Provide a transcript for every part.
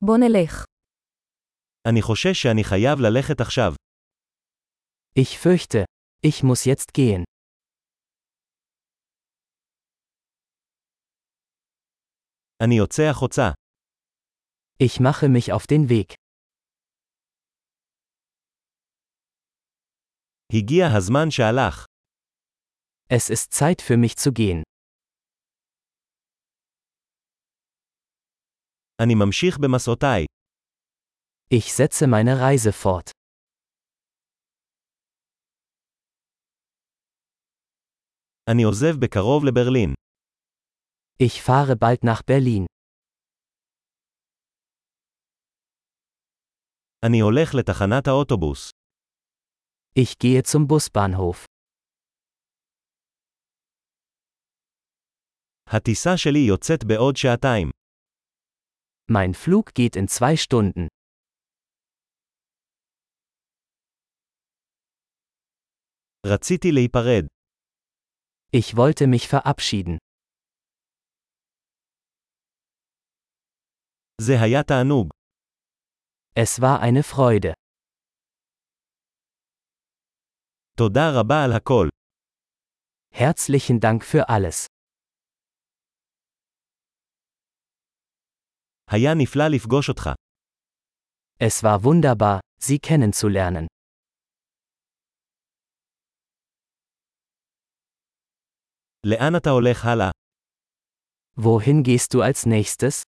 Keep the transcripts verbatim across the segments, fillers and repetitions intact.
בוא נלך. אני חושש שאני חייב ללכת עכשיו. Ich fürchte, ich muss jetzt gehen. אני יוצא החוצה. Ich mache mich auf den Weg. הגיע הזמן שהלך. Es ist Zeit für mich zu gehen. אני ממשיך במסעותיי. Ich setze meine Reise fort. אני עוזב בקרוב לברלין. Ich fahre bald nach Berlin. אני הולך לתחנת האוטובוס. Ich gehe zum Busbahnhof. הטיסה שלי יוצאת בעוד שעתיים. Mein Flug geht in zwei Stunden. רציתי להיפרד. Ich wollte mich verabschieden. זה היה תענוג. Es war eine Freude. תודה רבה על הכל. Herzlichen Dank für alles. היה נפלא לפגוש אותך. Es war wunderbar, Sie kennenzulernen. לאן אתה הולך הלאה? Wohin gehst du als nächstes?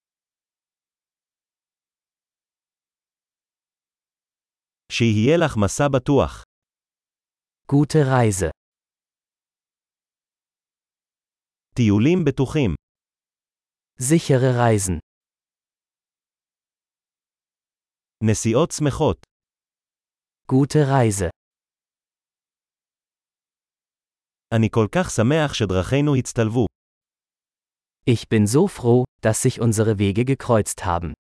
שיהיה לך מסע בטוח. Gute Reise. טיולים בטוחים. Sichere Reisen. נסיעות שמחות. Gute Reise. אני כל כך שמח שדרכינו הצטלבו. Ich bin so froh, dass sich unsere Wege gekreuzt haben.